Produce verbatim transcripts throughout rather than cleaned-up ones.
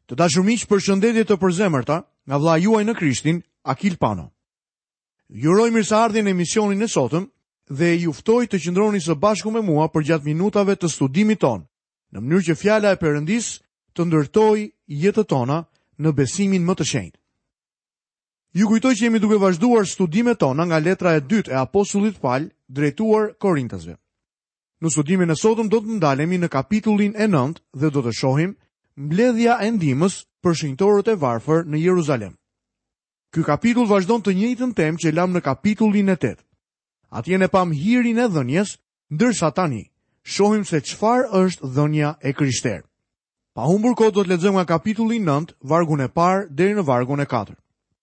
Të dashur miq, përshëndetje të përzemërta nga vlla juaj në Krishtin, Akil Pano. Ju uroj mirëseardhjen në emisionin e sotëm dhe ju ftoj të qëndroni së bashku me mua për gjatë minutave të studimit ton, në mënyrë që fjala e Perëndis të ndërtojë jetët tona në besimin më të shenjtë. Ju kujtoj që jemi duke vazhduar studimet tona nga letra e dytë e apostullit Paul drejtuar Korintasve. Në studimin e sotëm do të ndalemi në kapitullin e nëntë dhe do të shohim mbledhja e ndihmës për shenjtorët e varfër në Jeruzalem. Ky kapitull vazhdon të njëjtën temë që lam në kapitullin e tetë. Atje ne pam hirin e dhënjes, ndërsa tani shohim se çfarë është dhënia e Krishterë. Pa humbur kohë do të lexojmë nga kapitulli nëntë, vargun e parë deri në vargun e katërt.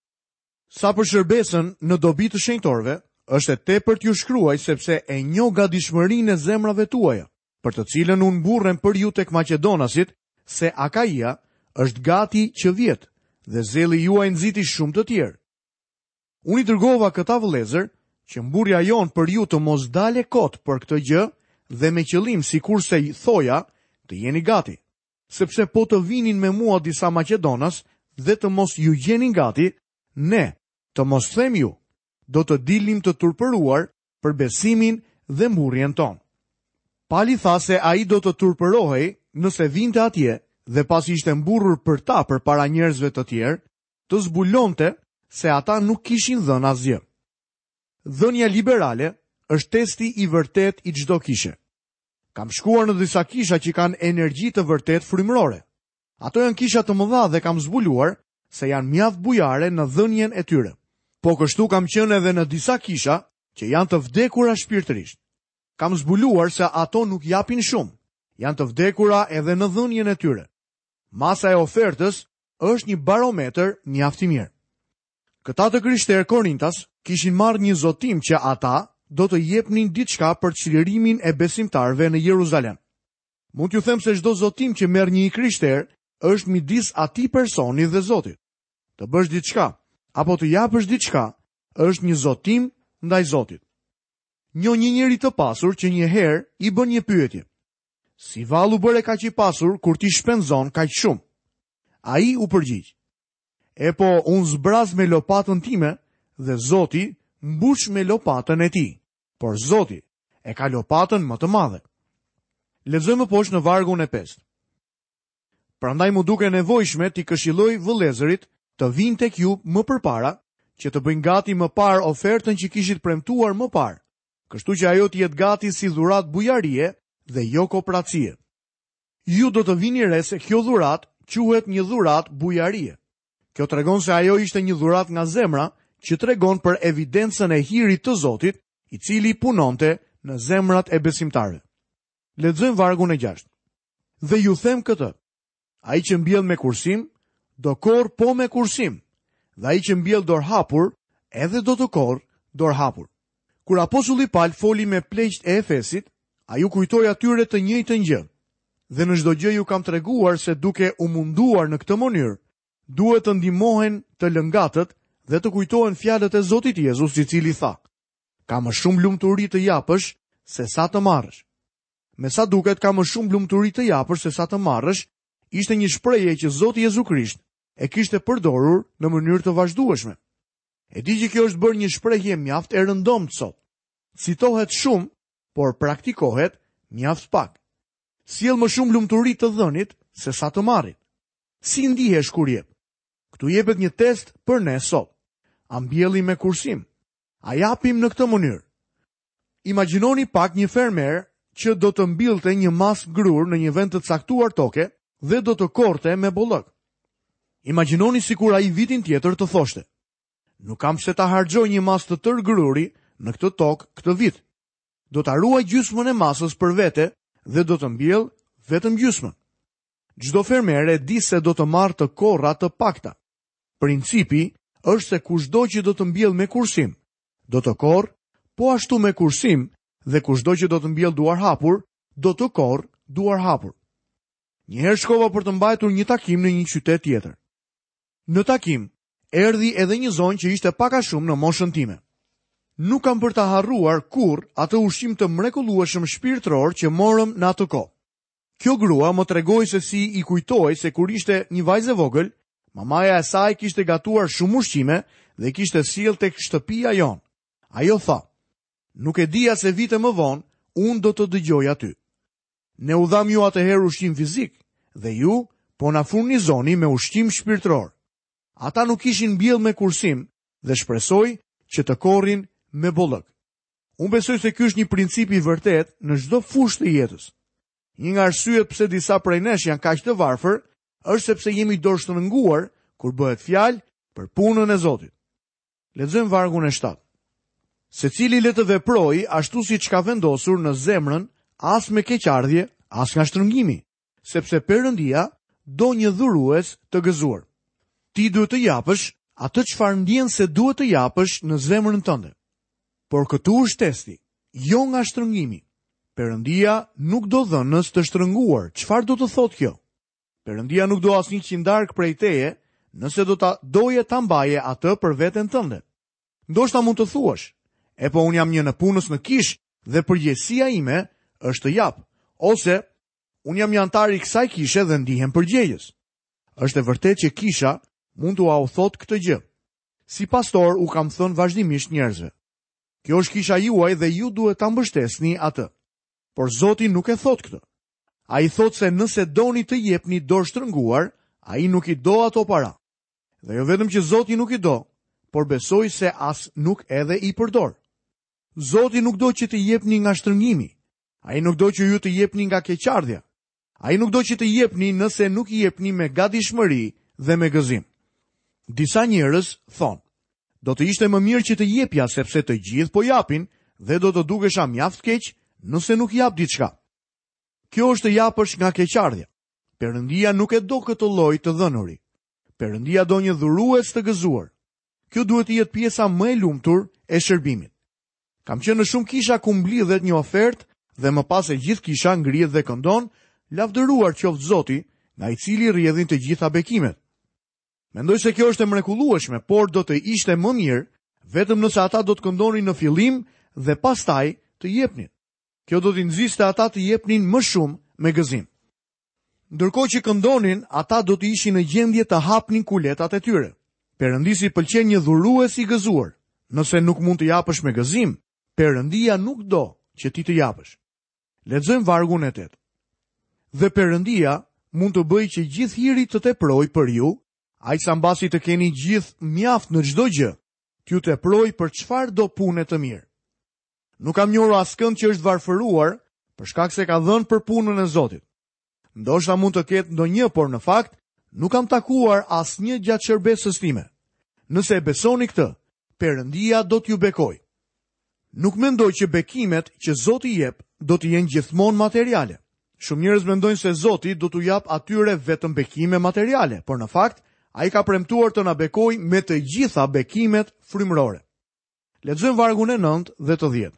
Sa për shërbesën në dobi të shenjtorëve, është e tepërt ju shkruaj sepse e njoh gatishmërinë e zemrave tuaja, për të cilën unë mburrem për ju tek Maqedonasit, se Akaia është gati që vjet, dhe zeli juaj nxiti shumë të tjerë. Unë i dërgova këta vëllezër, që mburja jon për ju të mos dale kot për këtë gjë, dhe me qëllim sikurse i thoja, të jeni gati, sepse po të vinin me mua disa Maqedonas dhe të mos ju gjenin gati, ne, të mos them ju, do të dilnim të turpëruar për besimin dhe mburjen ton. Pali tha se ai do të turpërohej nëse vinte atje dhe pasi ishte mburrur për ta për para njerëzve të tjerë, të zbulonte se ata nuk kishin dhënë asgjë. Dhënia liberale është testi i vërtet i çdo kishe. Kam shkuar në disa kisha që kanë energji të vërtet frymërore. Ato janë kisha të mëdha dhe kam zbuluar se janë mjaft bujare në dhënien e tyre. Po kështu kam qenë edhe në disa kisha që janë të vdekura shpirtërisht. Kam zbuluar se ato nuk japin shumë, janë të vdekura edhe në dhënien e tyre. Masa e ofertës është një barometër mjaft i mirë. Këta të krishterë Korintas kishin marrë një zotim që ata do të jepnin diçka për çlirimin e besimtarëve në Jeruzalem. Mund t'ju them se çdo zotim që merr një krishter është midis atij personi dhe Zotit. Të bësh diçka apo të japësh diçka është një zotim ndaj Zotit. Njo një njeri të pasur që një herë i bën një pyetje. Si vallu bëre kaq i pasur kur ti shpenzon kaq shumë? Ai u përgjigj. E po, unë zbraz me lopatën time dhe Zoti mbush me lopatën e tij, por Zoti e ka lopatën më të madhe. Lexojmë poshtë në vargun e pestë. Prandaj mu duke nevojshme t'i këshilloj vëllezërit të vinë tek ju më përpara, që të bëjnë gati më parë ofertën që kishit premtuar më parë, kështu që ajo të jetë gati si dhuratë bujarie dhe jo kopracie. Ju do të vini re se kjo dhuratë quhet një dhuratë bujarie. Kjo tregon se ajo ishte një dhuratë nga zemra që tregon për evidencën e hirit të Zotit, i cili punonte në zemrat e besimtarëve. Lexojmë vargun e gjashtë. Dhe ju them këtë: ai që mbjell me kursim, do korr po me kursim, dhe ai që mbjell dorë hapur, edhe do të korr dorë hapur. Kur apostulli Paul foli me pleqt e Efesit, ai u kujtoi atyre të njëjtën gjë. Dhe në çdo gjë ju kam treguar se duke u munduar në këtë mënyrë, duhet të ndihmohen të lëngatët dhe të kujtohen fjalët e Zotit Jezus, i cili tha: ka më shumë lumturi të japësh se sa të marrësh. Me sa duket ka më shumë lumturi të japësh se sa të marrësh, ishte një shprehje që Zoti Jezu Krisht e kishte përdorur në mënyrë të vazhdueshme. E di që kjo është bërë një shprehje mjaft e rëndomtë sot. Citohet shumë, por praktikohet mjaft pak. Sjell më shumë lumturi të dhënit se sa të marrit. Si ndihesh kur jep? Ktu jepet një test për ne sot. A mbjellim me kursim? A japim në këtë mënyrë? Imagjinoni pak një fermer që do të mbillte një mas grur në një vend të caktuar toke dhe do të korte me bollëk. Imagjinoni sikur ai vitin tjetër të thoshte: nuk kam pse ta harxoj një mas të tërë gruri në këtë tokë këtë vit. Do ta ruaj gjysmën e masës për vete dhe do të mbjell vetëm gjysmën. Çdo fermer e di se do të marrë të korra të pakta. Principi është se kushdo që do të mbjell me kursim, do të korrë po ashtu me kursim, dhe kushdo që do të mbjell duar hapur, do të korrë duar hapur. Njëherë shkova për të mbajtur një takim në një qytet tjetër. Në takim, erdhi edhe një zonjë që ishte pak a shumë në moshën time. Nuk kam për ta harruar kur atë ushqim të mrekullueshëm shpirtëror që morëm në atë kohë. Kjo grua më tregoi se si i kujtoi se kur ishte një vajzë e vogël, mamaja e saj kishte gatuar shumë ushqime dhe kishte sjell tek shtëpia jon. Ajo tha: "Nuk e dija se vite më vonë unë do të dëgjoj aty. Ne u dham ju atëherë ushqim fizik dhe ju po na furnizoni me ushqim shpirtëror." Ata nuk ishin mbjell me kursim dhe shpresoj që të korrin me bollëk. Unë besoj se ky është një princip i vërtet në çdo fushë të jetës. Një nga arsyet pse disa prej nesh janë kaq të varfër është sepse jemi dorështrënguar kur bëhet fjalë për punën e Zotit. Lexojmë vargun e shtatë. Secili le të veprojë ashtu siç ka vendosur në zemrën, as me keqardhje, as nga shtrëngimi, sepse Perëndia do një dhurues të gëzuar. Ti duhet të japësh atë çfarë ndjen se duhet të japësh në zemrën tënde. Por këtu është testi, jo nga shtrëngimi. Perëndia nuk do dhënës të shtrënguar. Çfarë do të thotë kjo? Perëndia nuk do asnjë qindark prej teje, nëse do ta doje ta mbaje atë për veten tënde. Ndoshta mund të thuash: "E po unë jam një në punës në kish dhe përgjegjësia ime është të jap." Ose unë jam një antar i kësaj kishe dhe ndihem përgjegjës. Është e vërtetë që kisha mund t'u au thot këtë gjë. Si pastor u kam thënë vazhdimisht njerëzve: "Kjo është kisha juaj dhe ju duhet ta mbështesni atë." Por Zoti nuk e thot këtë. Ai thot se nëse doni të jepni dorë shtrënguar, ai nuk i do ato para. Dhe jo vetëm që Zoti nuk i do, por besoj se as nuk edhe i përdor. Zoti nuk do që të jepni nga shtrëngimi. Ai nuk do që ju të jepni nga keqardhja. Ai nuk do që të jepni nëse nuk i jepni me gatishmëri dhe me gëzim. Disa njerëz thonë: "Do të ishte më mirë që të jepja sepse të gjithë po japin dhe do të dukesha mjaft keq nëse nuk jap diçka." Kjo është të japësh nga keqardhja. Perëndia nuk e do këtë lloj të dhënuri. Perëndia do një dhurues të gëzuar. Kjo duhet të jetë pjesa më e lumtur e shërbimit. Kam qenë në shumë kisha ku mblidhet një ofertë dhe më pas e gjithë kisha ngrihet dhe këndon: "Lavdëruar qoftë Zoti, nga i cili rrjedhin të gjitha bekimet." Mendoj se kjo është e mrekullueshme, por do të ishte më mirë vetëm nëse ata do të këndonin në fillim dhe pastaj të jepnin. Kjo do t'i nxiste ata të jepnin më shumë me gëzim. Ndërkohë që këndonin, ata do të ishin në gjendje të hapnin kuletat e tyre. Perëndisi pëlqen një dhurues i gëzuar. Nëse nuk mund të japësh me gëzim, Perëndia nuk do që ti të japësh. Lexojmë vargun e tetë. Dhe Perëndia mund të bëjë që gjithë hiri të teprojë për ju, aq sa mbasi të keni gjithë mjaft në çdo gjë, t'ju teprojë për çfarë do punë të mirë. Nuk kam njohur askënd që është varfëruar për shkak se ka dhënë për punën e Zotit. Ndoshta mund të ketë ndonjë, por në fakt nuk kam takuar asnjë gjatë shërbesës time. Nëse e besoni këtë, Perëndia do t'ju bekojë. Nuk mendoj që bekimet që Zoti jep do të jenë gjithmonë materiale. Shumë njerëz mendojnë se Zoti do t'u jap atyre vetëm bekime materiale, por në fakt ai ka premtuar të na bekojë me të gjitha bekimet frymërore. Lexojmë vargun e nëntë dhe të dhjetë.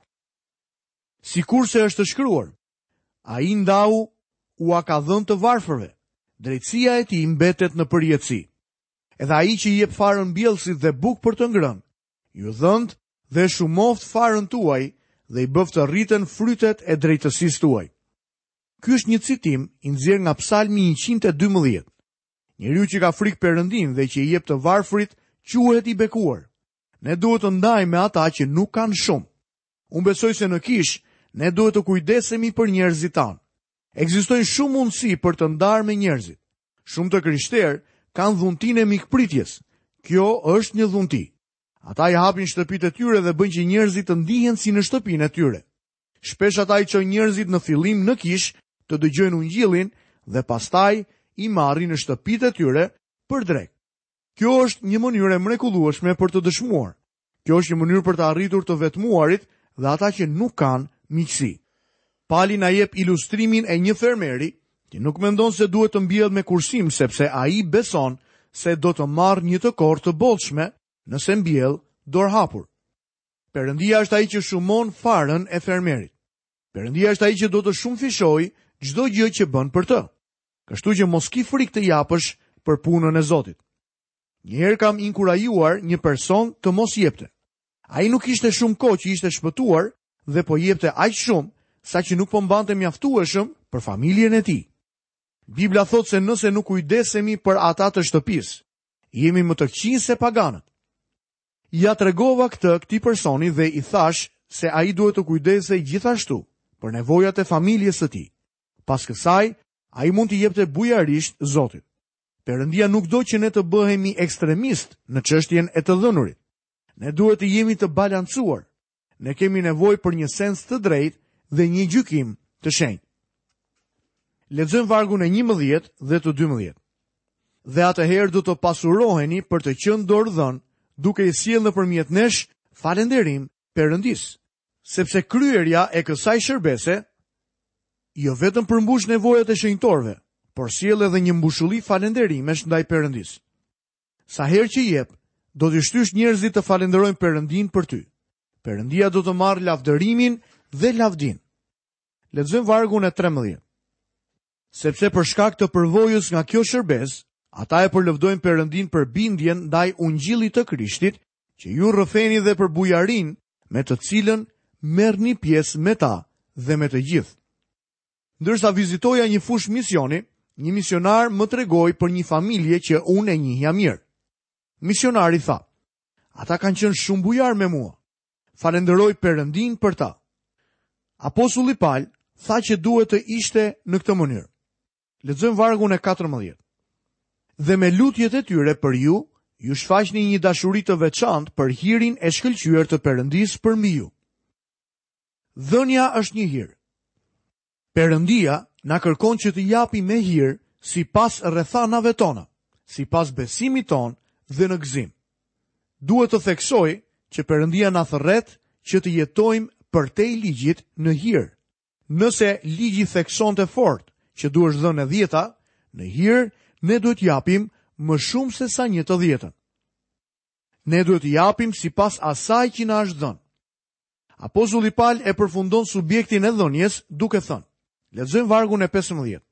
Sikurse është shkruar: "Ai ndau u a ka dhënë të varfërve, drejtësia e tij mbetet në përjetësi. Edhe ai që i jep farën mbjellësit dhe bukë për të ngrënë, ju dhënd dhe shumoft farën tuaj dhe i bëft të rriten frytet e drejtësisë tuaj." Ky është një citim i nxjerrë nga Psalmi njëqind e dymbëdhjetë. Njeriu që ka frikë Perëndin dhe që i jep të varfrit quhet i bekuar. Ne duhet të ndajmë me ata që nuk kanë shumë. Unë besoj se në kish ne duhet të kujdesemi për njerëzit tanë. Ekzistojnë shumë mundësi për të ndarë me njerëzit. Shumë të krishterë kanë dhuntinë e mikpritjes. Kjo është një dhunti. Ata i hapin shtëpitë e tyre dhe bëjnë që njerëzit të ndihen si në shtëpinë e tyre. Shpesh ata i çojnë njerëzit në fillim në kish të dëgjojnë ungjillin dhe pastaj i marrin në shtëpitë e tyre për drek. Kjo është një mënyrë e mrekullueshme për të dëshmuar. Kjo është një mënyrë për të arritur të vetmuarit dhe ata që nuk kanë miqësi. Pali na jep ilustrimin e një fermeri që nuk mendon se duhet të mbjellet me kursim sepse ai beson se do të marrë një të korë të bollshme nëse mbjell dorë hapur. Perëndia është ai që shumon farën e fermerit. Perëndia është ai që do të shumëfishojë çdo gjë që bën për të. Kështu që mos ki frikë të japësh për punën e Zotit. Njëherë kam inkurajuar një person të mos jepte. Ai nuk ishte shumë kohë që ishte shpëtuar dhe po jepte aq shumë sa që nuk po mbante mjaftueshëm për familjen e tij. Bibla thot se nëse nuk kujdesemi për ata të shtëpisë, jemi më të këqij se paganët. Ja tregova këtë këtij personi dhe i thash se ai duhet të kujdesej gjithashtu për nevojat e familjes së tij. Pas kësaj, ai mund t'i jepte bujarisht Zotit. Perëndia nuk do që ne të bëhemi ekstremist në çështjen e të dhënurit. Ne duhet të jemi të balancuar. Ne kemi nevojë për një sens të drejtë dhe një gjykim të shenjtë. Lexojmë vargun e njëmbëdhjetë dhe të dymbëdhjetë. Dhe atëherë do të pasuroheni për të qenë dorëdhën, duke i sjellë nëpërmjet nesh falënderim Perëndis, sepse kryerja e kësaj shërbese jo vetëm përmbush nevojat e shenjtorëve, por sjell edhe një mbushulli falënderimesh ndaj Perëndis. Sa herë që jep, do të shtysh njerëzit të falenderojnë Perëndin për ty. Perëndia do të marrë lavdërimin dhe lavdin. Lexojmë vargun e trembëdhjetë. Sepse për shkak të përvojës nga kjo shërbes, ata e përlëvdojnë Perëndin për bindjen ndaj ungjillit të Krishtit, që ju rrëfeni dhe për bujarin me të cilën merrni pjesë me ta dhe me të gjithë. Ndërsa vizitoja një fush misioni, një misionar më tregoi për një familje që unë e njihja mirë. Misionari tha: "Ata kanë qenë shumë bujar me mua. Falenderoj Perëndin për ta." Apostulli Paul tha që duhet të ishte në këtë mënyrë. Lexojmë vargun e katërmbëdhjetë. Dhe me lutjet e tyre për ju, ju shfaqni një dashuri të veçantë për hirin e shkëlqyer të Perëndisë përmbi ju. Dhënia është një hir. Perëndia na kërkon që të japi me hir sipas rrethanave tona, sipas besimit ton dhe në gëzim. Duhet të theksoj që Perëndia na thërret që të jetojmë përtej ligjit në hir. Nëse ligji theksonte fort që duhesh dhënë e dhjeta, në hir ne duhet japim më shumë se sa një të dhjetën. Ne duhet japim sipas asaj që na është dhënë. Apostulli Paul e përfundon subjektin e dhënies duke thënë. Lexojmë vargun e pesëmbëdhjetë.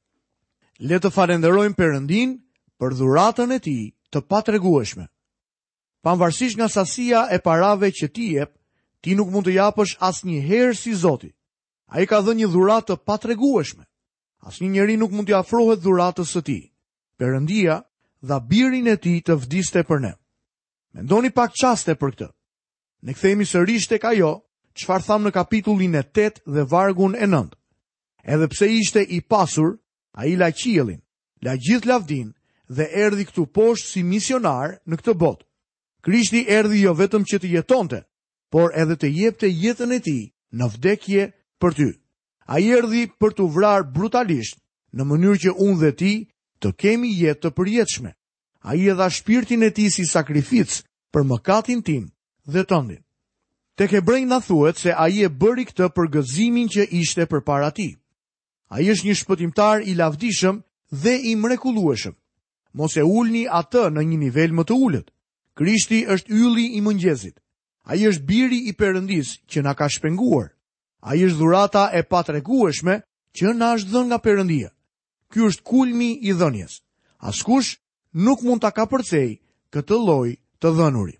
Le të falenderojmë Perëndin për dhuratën e tij të patregueshme. Pavarësisht nga sasia e parave që ti jep, ti nuk mund të japësh asnjëherë si Zoti. Ai ka dhënë një dhuratë të patregueshme. Asnjë njeri nuk mund t'i afrohet dhuratës së tij. Perëndia dha birin e tij të vdiste për ne. Mendoni pak çaste për këtë. Ne kthehemi sërish tek ajo çfarë tham në kapitullin e tetë dhe vargun e nëntë. Edhe pse ishte i pasur, ai la qiellin, la gjithë lavdin dhe erdhi këtu poshtë si misionar në këtë botë. Krishti erdhi jo vetëm që të jetonte, por edhe të jepte jetën e tij në vdekje për ty. Ai erdhi për të vrarë brutalisht, në mënyrë që unë dhe ti të kemi jetë të përjetshme. Ai e dha shpirtin e tij si sakrificë për mëkatin tim dhe tëndin. Tek Hebrejnë na thuhet se ai e bëri këtë për gëzimin që ishte përpara tij. Ai është një shpëtimtar i lavdishëm dhe i mrekullueshëm. Mos e ulni atë në një nivel më të ulët. Krishti është ylli i mëngjesit. Ai është biri i Perëndisë që na ka shpenguar. Ai është dhurata e patregueshme që na është dhënë nga Perëndia. Ky është kulmi i dhënies. Askush nuk mund ta kapërcej këtë lloj të dhënuri.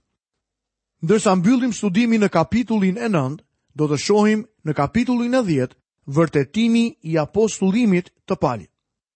Ndërsa mbyllim studimin në kapitullin e nëntë, do të shohim në kapitullin e dhjetë vërtetimi i apostullimit të Paulit.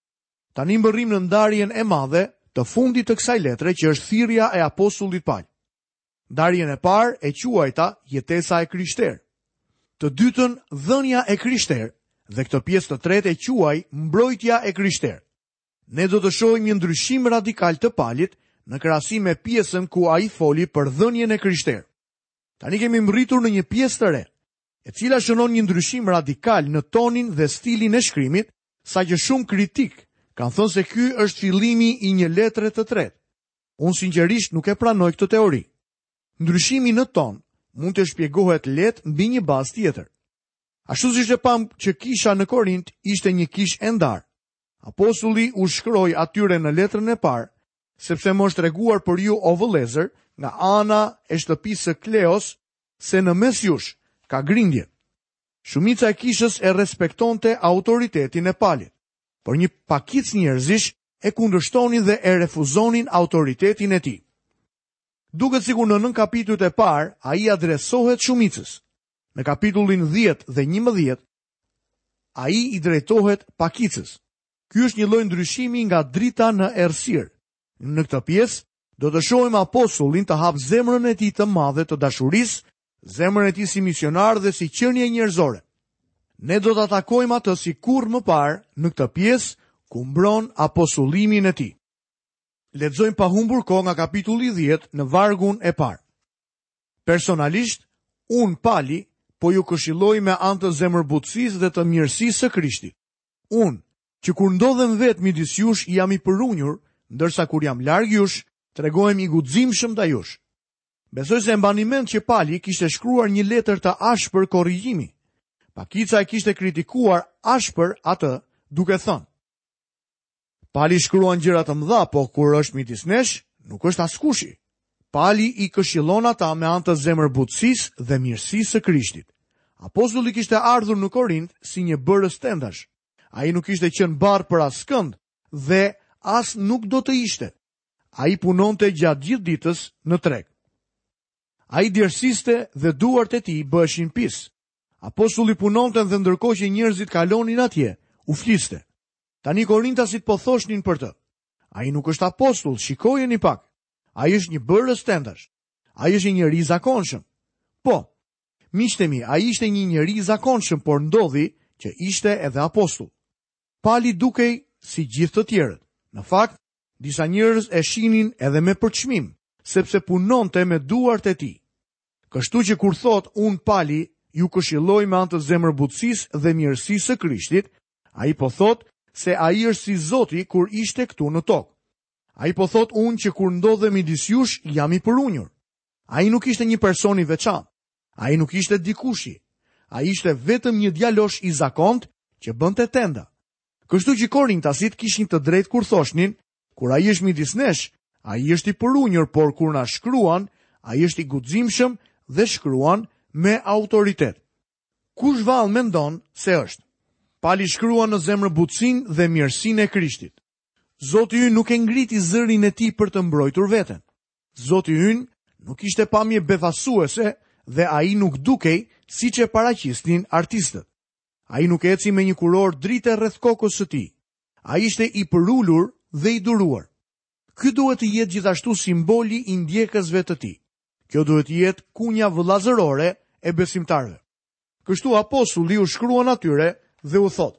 Tani mbërrim në ndarjen e madhe të fundit të kësaj letre që është thirrja e apostullit Paul. Ndarjen e parë e quajta jetesa e krishterë. Të dytën dhënia e krishterë dhe këtë pjesë të tretë e quaj mbrojtja e krishterë. Ne do të shohim një ndryshim radikal të Paulit në krahasim me pjesën ku ai foli për dhënien e krishterë. Tani kemi mbërritur në një pjesë të re, e cila shënon një ndryshim radikal në tonin dhe stilin e shkrimit, saqë shumë kritik kanë thënë se ky është fillimi i një letre të tretë. Unë sinqerisht nuk e pranoj këtë teori. Ndryshimi në ton mund të shpjegohet lehtë mbi një bazë tjetër. Ashtu siç e pam që kisha në Korint ishte një kishë e ndarë. Apostulli u shkroi atyre në letrën e parë, sepse më është treguar për ju o vëllezër nga ana e shtëpisë së Kleos se në mes jush ka grindje. Shumica e kishës e respektonte autoritetin e Paulit, por një pakic njerëzish e kundërshtonin dhe e refuzonin autoritetin e tij. Duket sikur në nën kapitujt e parë ai adresohet shumicës. Në kapitullin dhjetë dhe njëmbëdhjetë ai i drejtohet pakicës. Ky është një lloj ndryshimi nga drita në errësirë. Në këtë pjesë do të shohim apostullin të hap zemrën e tij të madhe të dashurisë, zemrën e tij si misionar dhe si qenie njerëzore. Ne do ta takojmë atë si kurrë më parë në këtë pjesë ku mbron apostullimin e tij. Lexojmë pa humbur kohë nga kapitulli dhjetë në vargun e parë. Personalisht, unë Pali, po ju këshilloj me anë të zemërbutësisë dhe të mirësisë së Krishtit. Unë, që kur ndodhem vetë midis jush jam i përunjur, ndërsa kur jam larg jush, tregohem i guximshëm ndaj jush. Besoj se mbani mend që Pali kishte shkruar një letër të ashpër korrigjimi. Pakica e kishte kritikuar ashpër atë, duke thënë: Pali shkruan gjëra të mëdha, po kur është midis nesh, nuk është askushi. Pali i këshillon ata me anë të zemërbutësisë dhe mirësisë së Krishtit. Apostulli kishte ardhur në Korint si një bërës tendash. Ai nuk ishte qenë barë për askënd dhe as nuk do të ishte. Ai punonte gjatë gjithë ditës në treg. Ai djersiste dhe duart e tij bëheshin pis. Apostulli punonte dhe ndërkohë që njerëzit kalonin atje, u fliste. Tani korintasit po thoshnin për të: ai nuk është apostull, shikojeni pak. Ai është një bërës tendash. Ai është një njeri i zakonshëm. Po, miqtë mi, ai ishte një njeri i zakonshëm, por ndodhi që ishte edhe apostull. Pali dukej si gjithë të tjerët. Në fakt, disa njerëz e shihnin edhe me përçmim, sepse punonte me duart e tij. Kështu që kur thot un Pali ju këshilloj me anë të zemërbutësisë dhe mirësisë së Krishtit, ai po thot se ai është si Zoti kur ishte këtu në tokë. Ai po thot unë që kur ndodhe midis jush jam i përunjur. Ai nuk ishte një person i veçantë. Ai nuk ishte dikushi. Ai ishte vetëm një djalosh i zakont që bënte tenda. Kështu që korintasit kishin të drejtë kur thoshnin: kur ai është midis nesh, ai është i përunjur, por kur na shkruan, ai është i guximshëm dhe shkruan me autoritet. Kush vallë mendon se është? Pali shkruan në zemërbutësinë dhe mirësinë e Krishtit. Zoti ynë nuk e ngriti zërin e tij për të mbrojtur veten. Zoti ynë nuk ishte pamje befasuese dhe ai nuk dukej siç e paraqisnin artistët. Ai nuk eci me një kuror drite rreth kokës së tij. Ai ishte i përulur dhe i duruar. Ky duhet të jetë gjithashtu simboli i ndjekësve të tij. Kjo duhet të jetë kunja vëllazërore e besimtarëve. Kështu apostulli u shkruan atyre dhe u thot: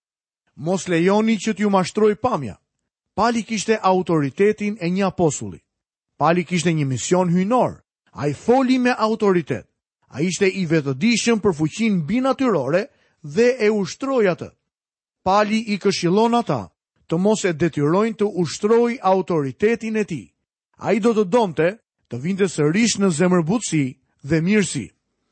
mos lejoni që t'ju mashtroj pamja. Pali kishte autoritetin e një apostulli. Pali kishte një mision hyjnor. Ai foli me autoritet. Ai ishte i vetëdijshëm për fuqinë binatyrore dhe e ushtroi atë. Pali i këshillon ata të mos e detyrojnë të ushtrojë autoritetin e tij. Ai do të donte të vinte sërish në zemërbutësi dhe mirësi.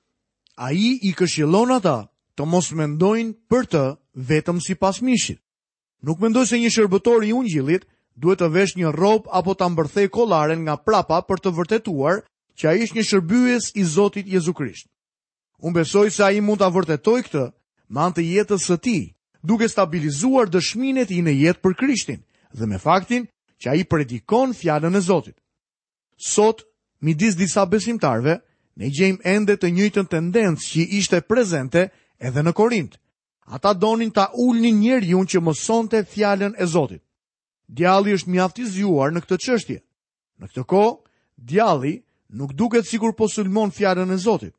Ai i këshillon ata të mos mendojnë për të vetëm sipas mishit. Nuk mendoj se një shërbëtor i ungjillit duhet të vesh një rrobë apo ta mbërthej kollaren nga prapa për të vërtetuar që ai është një shërbyes i Zotit Jezu Krisht. Unë besoj se ai mund ta vërtetojë këtë me anë të jetës së tij, duke stabilizuar dëshminë e tij në jetë për Krishtin dhe me faktin që ai predikon fjalën e Zotit. Sot, midis disa besimtarve, ne gjejmë ende të njëjtën tendencë që ishte prezente edhe në Korint. Ata donin ta ulnin njeriu që mësonte fjalën e Zotit. Djalli është mjaft i zgjuar në këtë çështje. Në këtë kohë, djalli nuk duket sikur po sulmon fjalën e Zotit.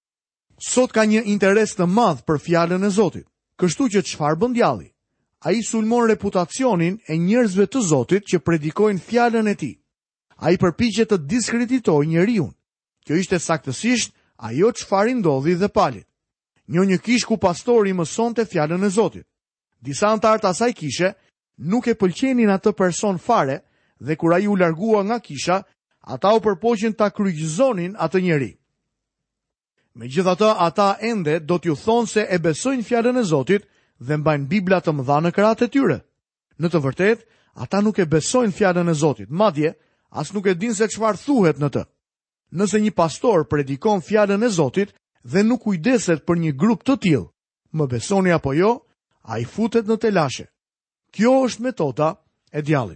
Sot ka një interes të madh për fjalën e Zotit. Kështu që çfarë bën djalli? Ai sulmon reputacionin e njerëzve të Zotit që predikojnë fjalën e tij. Ai përpiqet të diskreditojë njeriu. Kjo ishte saktësisht ajo çfarë ndodhi dhe Palit. Një një kish ku pastori mësonte fjalën e Zotit. Disa antar të asaj kishe nuk e pëlqenin atë person fare dhe kur ai u largua nga kisha, ata u përpoqën ta kryqëzonin atë njeri. Megjithatë, ata ende do t'ju thonë se e besojnë fjalën e Zotit dhe mbajnë Bibla të mëdha në krahët e tyre. Në të vërtetë, ata nuk e besojnë fjalën e Zotit, madje as nuk e dinë se çfarë thuhet në të. Nëse një pastor predikon fjalën e Zotit dhe nuk kujdeset për një grup të tillë, më besoni apo jo, ai futet në telashe. Kjo është metoda e djallit.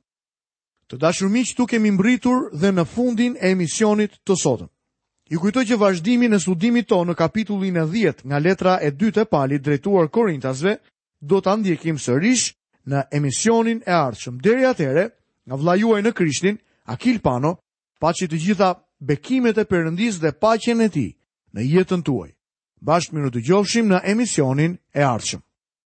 Të dashur miq, tu kemi mbritur dhe në fundin e emisionit të sotëm. Ju kujtoj që vazhdimin e studimit tonë në kapitullin e dhjetë nga letra e dytë e Palit drejtuar Korintasve do ta ndjekim sërish në emisionin e ardhshëm. Deri atëherë, nga vlla juaj në Krishtin, Akil Pano, paçi të gjitha bekimet e Perëndisë dhe paqen e tij në jetën tuaj. Bashkë miru të gjofshim në emisionin e ardhshëm.